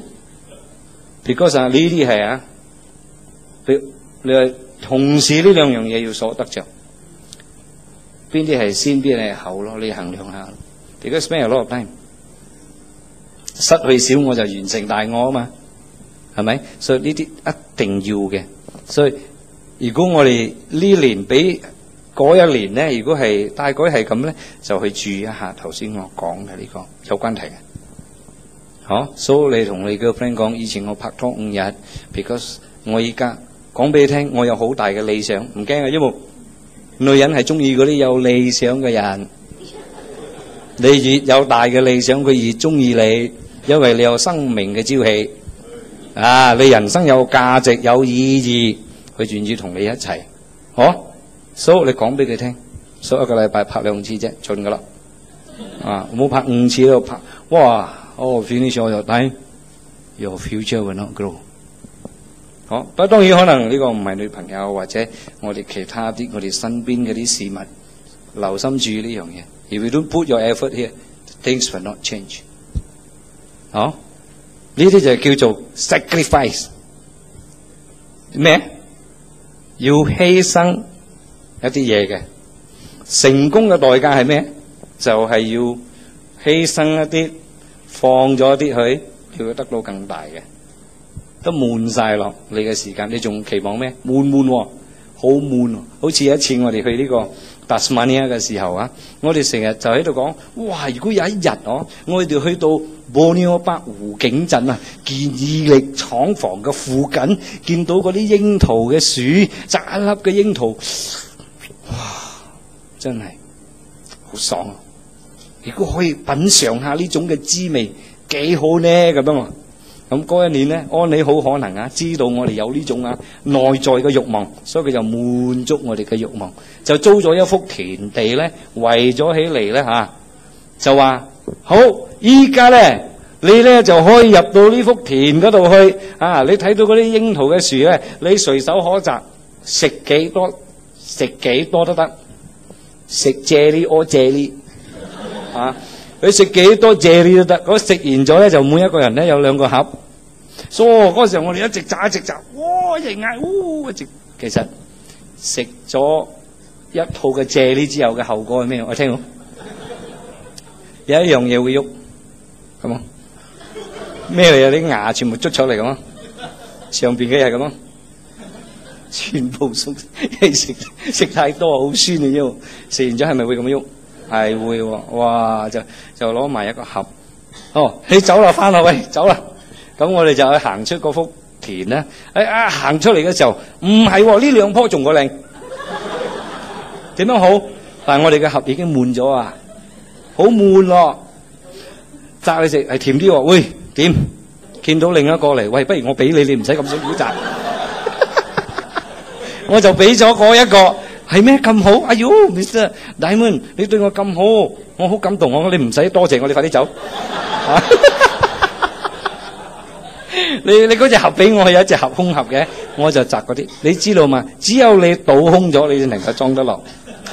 Because 呢啲係你係同時呢兩樣嘢要所得着，邊啲係先，邊啲係後咯？你衡量下。Because spend a lot of time。失去少我就完成大我啊嘛，係咪？所以呢啲一定要嘅。所以如果我哋呢年比嗰一年咧，如果係大概係咁咧，就去注意一下頭先我講嘅呢個有關係嘅。所以你同你嘅 friend 講，以前我拍拖5日 ，because 我依家講俾你聽，我有好大嘅理想，唔驚啊，因為女人係中意嗰啲有理想嘅人。你越有大嘅理想，佢越中意你。因為你有生命嘅朝氣，你人生有價值有意義，佢願意同你一齊，所以你講俾佢聽，所以一個禮拜拍2次啫，盡噶啦，唔好拍5次都拍，哇，finish all your time, your future will not grow。不過當然可能呢個唔係女朋友或者我哋其他啲我哋身邊嗰啲事物，留心注意呢樣嘢。If you don't put your effort here, things will not change。呢啲就叫做 sacrifice 咩？要犧牲一啲嘢嘅。成功嘅代價係咩？就係要犧牲一啲，放咗一啲去，叫佢得到更大嘅。都悶晒落你嘅時間，你仲期望咩？悶喎，好悶喎。好似有一次我哋去呢個達斯馬尼亞嘅時候啊，我哋成日就喺度講，哇！如果有一日我哋去到博尼歐北湖景鎮啊，健義力廠房嘅附近，見到嗰啲櫻桃嘅樹，摘一粒嘅櫻桃，哇！真係好爽啊！如果可以品嚐下呢種嘅滋味，幾好呢咁樣啊！咁嗰一年咧，安妮好可能啊，知道我哋有呢種內在嘅慾望，所以佢就滿足我哋嘅慾望，就租咗一幅田地咧，圍咗起嚟咧就話好，依家咧你咧就可以入到呢幅田嗰度去啊！你睇到嗰啲櫻桃嘅樹咧，你隨手可摘，食幾多都得，食啫喱屙啫喱啊！佢食幾多啫喱都得，嗰食完咗咧就每一個人咧有2個盒。嗰時候我哋一直摘，哇！一直嗌，一直其實食咗一套嘅啫喱之後嘅後果係咩？我聽過有一樣嘢會喐，咁啊咩嚟啊？啲牙全部捽出嚟咁啊，上邊嘅係咁啊，全部鬆，食太多好酸嘅啫。食完咗係咪會咁樣喐？係會喎，哇！就攞埋一個盒。你走啦，翻啦，喂，走啦。咁我哋就去行出嗰幅田啦。行出嚟嘅時候，唔係喎，呢2棵仲個靚。點樣好？但係我哋嘅盒已經滿咗啊，好悶咯。摘你食係甜啲喎，喂，點？見到另一個嚟，喂，不如我俾你，你唔使咁辛苦摘。我就俾咗嗰一個。係咩咁好？哎呦 ，Mr. Diamond， 你對我咁好，我好感動。我你唔使多謝我，你快啲走。你嗰隻盒俾我，有一隻盒空盒嘅，我就摘嗰啲。你知道嘛？只有你倒空咗，你先能夠裝得落。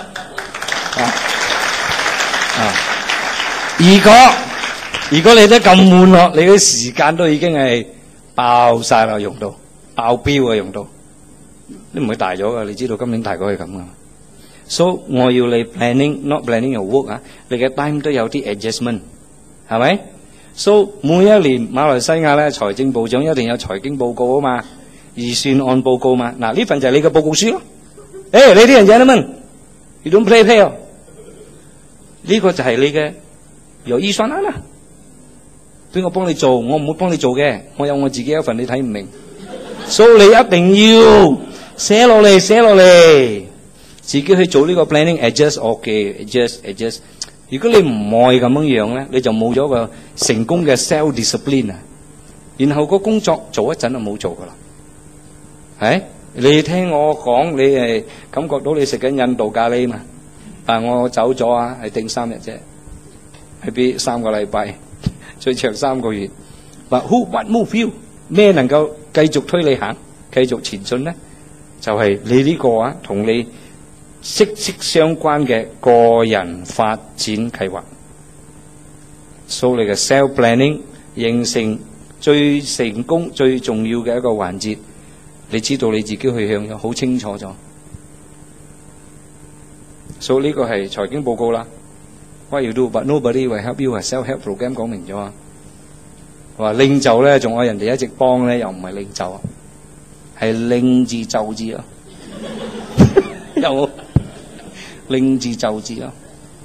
如果你都咁悶咯，你嘅時間都已經係爆晒啦，用到爆標啊，用到。都唔會大咗噶，你知道今年大概係咁噶。So 我要你 planning，not planning your work 啊，你嘅 time 都有啲 adjustment， 係咪 ？So 每一年馬來西亞咧，財政部長一定有財經報告啊嘛，預算案報告嘛。嗱呢份就係你嘅報告書咯。ladies and gentlemen，you don't play 呢個就係你嘅有預算案啦。邊個幫你做？我唔會幫你做嘅，我有我自己一份，你睇唔明。So 你一定要。寫落嚟，自己去做呢個 planning，adjust。如果你唔愛咁樣咧，你就冇咗個成功嘅 self discipline 啊。然後個工作做一陣就冇做噶啦。你聽我講，你係感覺到你食緊印度咖喱嘛？但係我走咗啊，係定3日啫，係俾3個禮拜，最長3個月。話 what move you？ 咩能夠繼續推你行，繼續前進咧？就係你呢個同你息息相關嘅個人發展計劃。So 你嘅 self planning 形成最成功、最重要嘅一個環節。你知道你自己去向有好清楚咗。So 呢個係財經報告啦。What you do, but nobody will help you 係 self-help program 講明咗啊。話領袖咧，仲有人哋一直幫咧，又唔係領袖啊。係令字就字咯，有令字就字咯，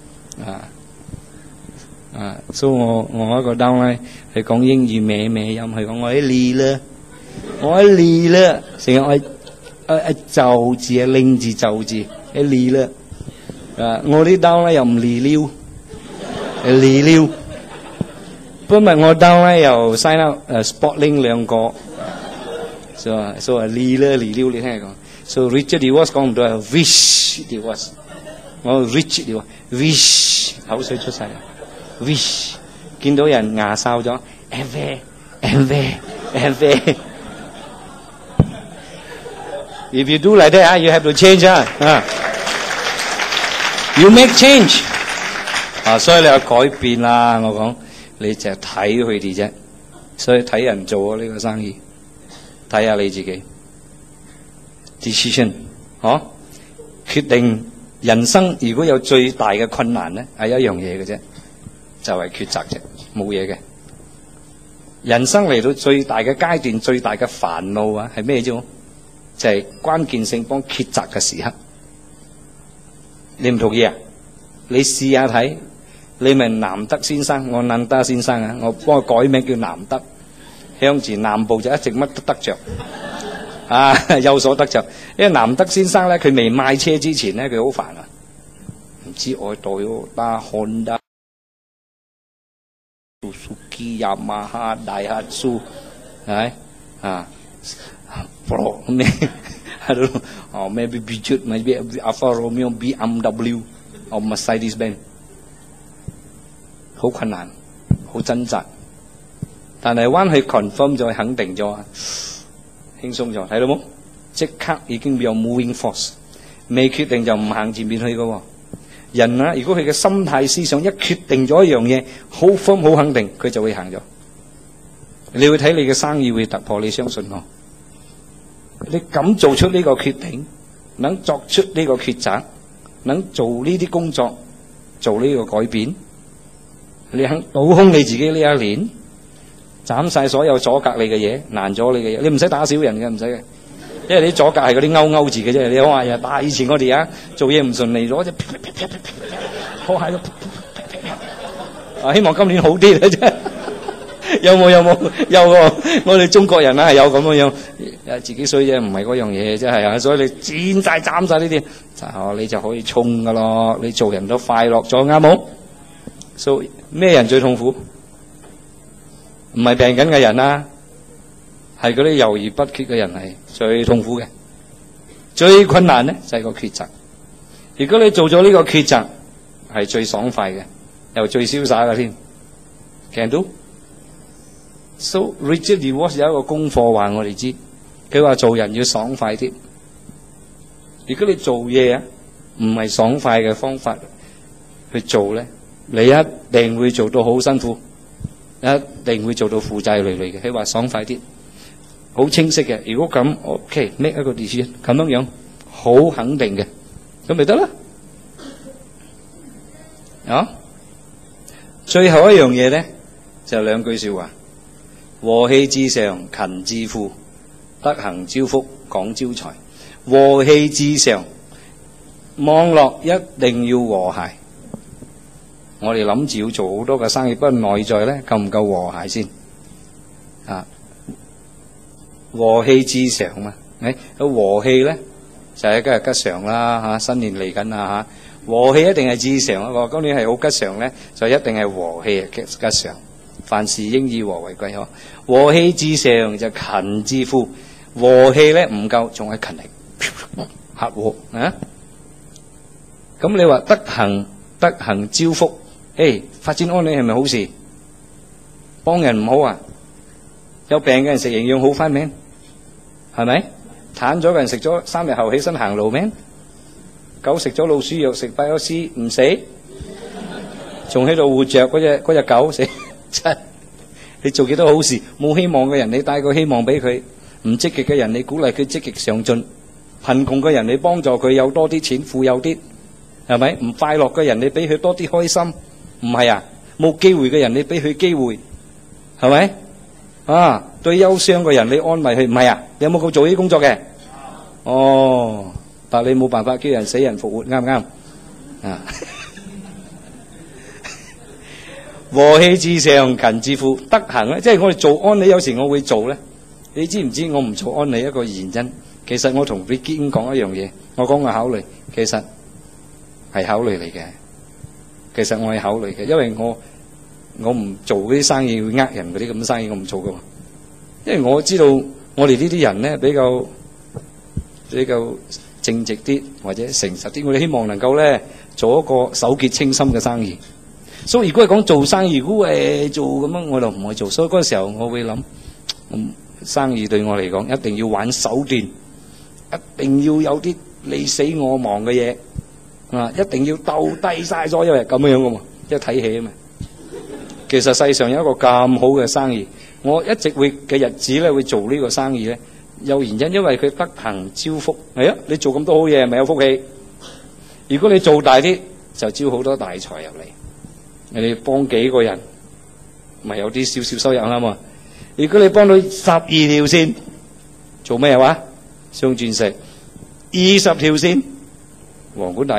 所以我一個 down 咧係講英語咩音，係講我啲哩啦，成日我就字令字就字啲哩啦，我啲 down 咧又唔哩溜，哩溜，今日我 down 咧又 sign up Sportlink 2個。So 哩啦哩溜，你聽佢講。So Richard Diwas 講唔到係 Wish Diwas， 我 Richard Diwas，wish 口水出晒啦 ，wish 見到人牙哨咗 ，envy。If you do like that, you have to change You make change 所以你有改變啦。我講你就睇佢哋啫，所以睇人做呢個生意。睇下你自己 decision， 決定人生如果有最大嘅困難咧，係一樣嘢嘅啫，就係抉擇啫，冇嘢嘅。人生嚟到最大嘅階段，最大嘅煩惱係咩啫？就係關鍵性幫抉擇嘅時刻。 你唔同意啊？你試下睇，你咪南德先生，我南德先生啊，我幫佢改名叫南德，向前南部就一直乜都得着，啊有所得着。因為南德先生咧，佢未買車之前咧，佢好煩啊，唔知愛代打Honda、Suzuki、Yamaha、Daihatsu，係咪啊？Pro 咩？I don't know. Oh, maybe Peugeot, maybe Alfa Romeo, BMW, or Mercedes-Benz. 好困難，好掙扎。但係彎去 confirm 咗，肯定咗，輕鬆咗，睇到冇？即刻已經有 moving force。未決定就唔行前面去嘅喎。人啊，如果佢嘅心態思想一決定咗一樣嘢，好 firm 好肯定，佢就會行咗。你會睇你嘅生意會突破，你相信我。你敢做出呢個決定，能作出呢個抉擇，能做呢啲工作，做呢個改變，你肯倒空你自己呢一年，斬晒所有阻隔你嘅嘢，難咗你嘅嘢，你唔使打小人嘅，唔使嘅，因為你阻隔係嗰啲勾字嘅啫。你話呀，但係以前我哋啊做嘢唔順利，攞隻拖鞋希望今年好啲咧啫。有冇？有喎！我哋中國人啊，係有咁樣樣，自己衰啫，唔係嗰樣嘢，真係啊！所以你剪晒、斬晒呢啲，你就可以衝噶咯。你做人都快樂咗，啱冇？所以咩人最痛苦？唔係病緊嘅人啦，係嗰啲猶豫不決嘅人係最痛苦嘅。最困難咧就係個抉擇。如果你做咗呢個抉擇，係最爽快嘅，又最瀟灑嘅添。Can do。So Richard DeWalt 有一個功課話我哋知，佢話做人要爽快啲。如果你做嘢啊，唔係爽快嘅方法去做咧，你一定會做到好辛苦，一定會做到負債累累嘅。佢話爽快啲，好清晰嘅。如果咁 ，OK，make 一個 decision 咁樣樣，好肯定嘅，咁咪得啦。啊，最後一樣嘢咧就兩句說話。和氣致上，勤致富，德行招福，廣招財。和氣致上，網絡一定要和諧。我哋諗住要做好多嘅生意，不過內在咧夠唔夠和諧先？啊，和氣致上嘛，和氣咧就係今日吉祥啦嚇，新年嚟緊啦嚇。和氣一定係致上啊！今年係好吉祥咧，就一定係和氣吉祥。凡事應以和為貴，和氣致上就勤致富。和氣咧唔夠，仲係勤力合和啊！咁你話德行招福，發展安利係咪好事？幫人唔好啊？有病嘅人食營養好翻咩？係咪？癱咗嘅人食咗3日後起身行路咩？狗食咗老鼠藥食8+C唔死，仲喺度活着嗰隻狗死。你做幾多好事？冇希望嘅人，你帶個希望俾佢；唔積極嘅人，你鼓勵佢積極上進；貧窮嘅人，你幫助佢有多啲錢，富有啲，係咪？唔快樂嘅人，你俾佢多啲開心，唔係啊？冇機會嘅人，你俾佢機會，係咪？啊，對憂傷嘅人，你安慰佢，唔係啊？你有冇做呢啲工作嘅？哦，但你冇辦法叫人死人復活，啱唔啱？啊！和氣致上，勤致富，德行咧，即係我哋做安利，有時我會做咧。你知唔知我唔做安利一個原因？其實我同 Ricky 講一樣嘢，我講我考慮，其實係考慮嚟嘅。其實我係考慮嘅，因為我唔做嗰啲生意會呃人嗰啲咁嘅生意，我唔做噶嘛。因為我知道我哋呢啲人咧比較正直啲或者誠實啲，我哋希望能夠咧做一個手潔清心嘅生意。所以如果係講做生意，如果做咁樣，我就唔會做。所以嗰個時候我會諗，生意對我嚟講一定要玩手段，一定要有啲你死我亡嘅嘢啊！一定要鬥低晒所有人咁樣噶嘛，即係睇戲啊嘛。其實世上有一個咁好嘅生意，我一直會嘅日子咧會做呢個生意咧，有原因，因為佢德行招福。係啊，你做咁多好嘢，咪有福氣。如果你做大啲，就招好多大財入嚟。你幫幾個人，咪有啲少少收入啦嘛。如果你幫到12條線，做咩話？鑲鑽石，20條線，皇冠大使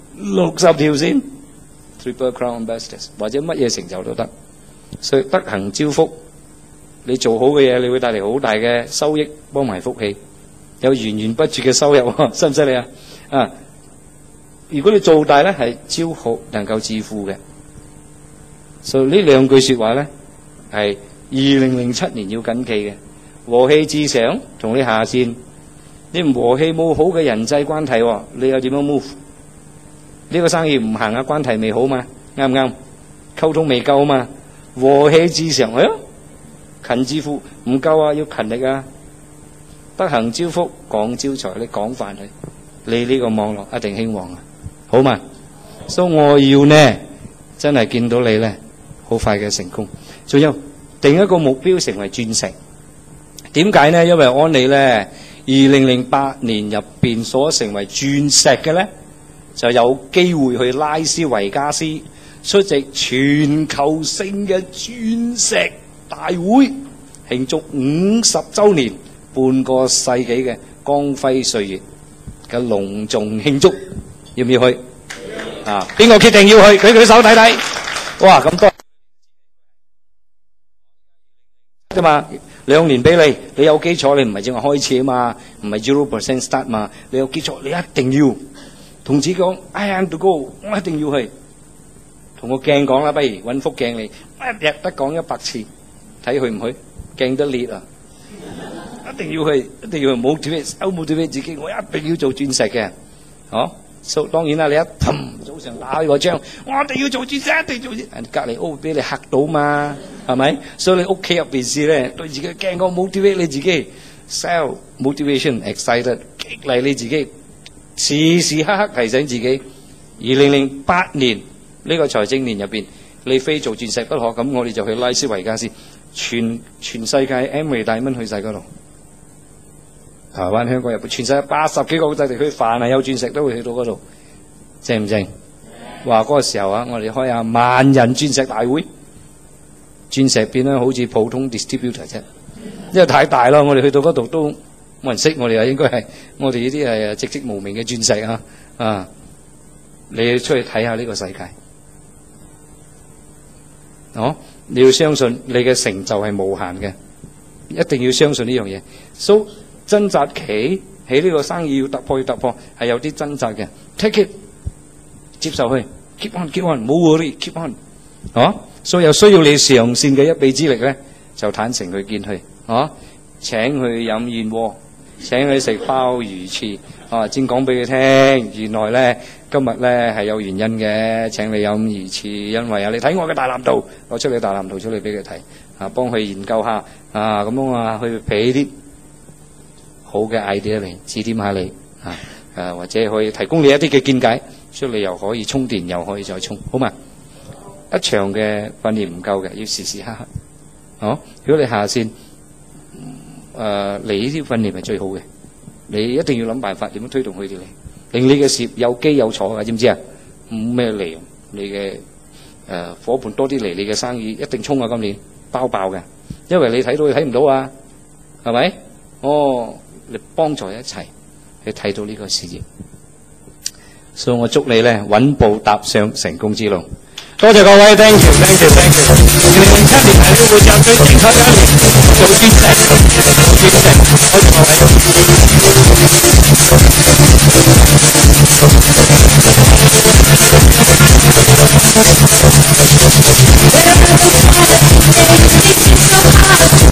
60條線 ，Triple Crown Ambassadors 或者乜嘢成就都得。所以德行招福，你做好嘅嘢，你會帶嚟好大嘅收益，幫埋福氣，有源源不絕嘅收入，犀唔犀利啊？啊！如果你做大咧，係招福能夠致富嘅。所以呢兩句說話咧，係2007年要緊記嘅。和氣至上，同你下線，你唔和氣冇好嘅人際關係，你又點樣 move？ 呢個生意唔行啊，關係未好嘛，啱唔啱？溝通未夠嘛，和氣至上，勤致富唔夠啊，要勤力啊。德行招福，廣招財，你廣泛去，你呢個網絡一定興旺啊，好嘛？所以我要呢，真係見到你呢，好快嘅成功。仲有定一個目標，成為鑽石。點解呢？因為安利呢，2008年入邊所成為鑽石嘅呢，就有機會去拉斯維加斯出席全球性嘅鑽石大會，慶祝50週年，半個世紀嘅光輝歲月嘅隆重慶祝，要唔要去？啊，邊個決定要去？舉舉手睇睇。哇，咁多啫嘛！2年俾你，你有基礎，你唔係淨係開始啊嘛，唔係 0% start 嘛，你有基礎，你一定要同自己講 I am to go， 我一定要去。同個鏡講啦，不如揾幅鏡你，一日得講100次，睇去唔去？鏡得裂啊！一定要去，一定要去motivate自己，我一定要做鑽石嘅，So, 當然啦，你一早上打開個章，我一定要做鑽石，一定做鑽石，隔離屋俾你嚇到嘛，係咪？所以你屋企入邊試咧，對自己驚講 motivate 你自己 ，sell motivation excited 激勵你自己，時時刻刻提醒自己。2008年呢個財政年入邊，你非做鑽石不可，咁我哋就去拉斯維加斯，全世界 Amway 大蚊去晒嗰度。台灣、香港、日本，全世界80幾個國際地區，凡係有鑽石都會去到嗰度，正唔正？話嗰個時候啊，我哋開下萬人鑽石大會，鑽石變咗好似普通 distributor 啫，因為太大啦，我哋去到嗰度都冇人識我哋啊，應該係我哋呢啲係籍籍無名嘅鑽石啊！你要出去睇下呢個世界，你要相信你嘅成就係無限嘅，一定要相信呢樣嘢。So掙扎期喺呢個生意要突破係有啲掙扎嘅 ，take it 接受佢 ，keep on， 冇 worry，keep on， 所以有需要你上線嘅一臂之力咧，就坦誠去見佢，請佢飲燕窩，請佢食鮑魚翅，先講俾佢聽，原來咧今日咧係有原因嘅，請你飲魚翅，因為你睇我嘅大藍圖，攞出你大藍圖出嚟俾佢睇，幫佢研究下，咁樣去俾啲好嘅 idea 嚟指點下你，或者可以提供你一啲嘅見解，所以你又可以充電，又可以再充，好嘛？一場嘅訓練唔夠嘅，要時時刻刻。如果你下線，你呢啲訓練係最好嘅，你一定要諗辦法點樣推動佢哋嚟，令你嘅事業有基有坐嘅，知唔知啊？冇咩利用，你嘅伙伴多啲嚟，你嘅生意一定衝啊！今年包爆嘅，因為你睇到你睇唔到啊，係咪？你幫助一齊去睇到呢個事業，所以我祝你咧穩步踏上成功之路。多謝各位 ，thank you。2007年係呢個會站最精彩嘅一年，做鑽石，多謝各位。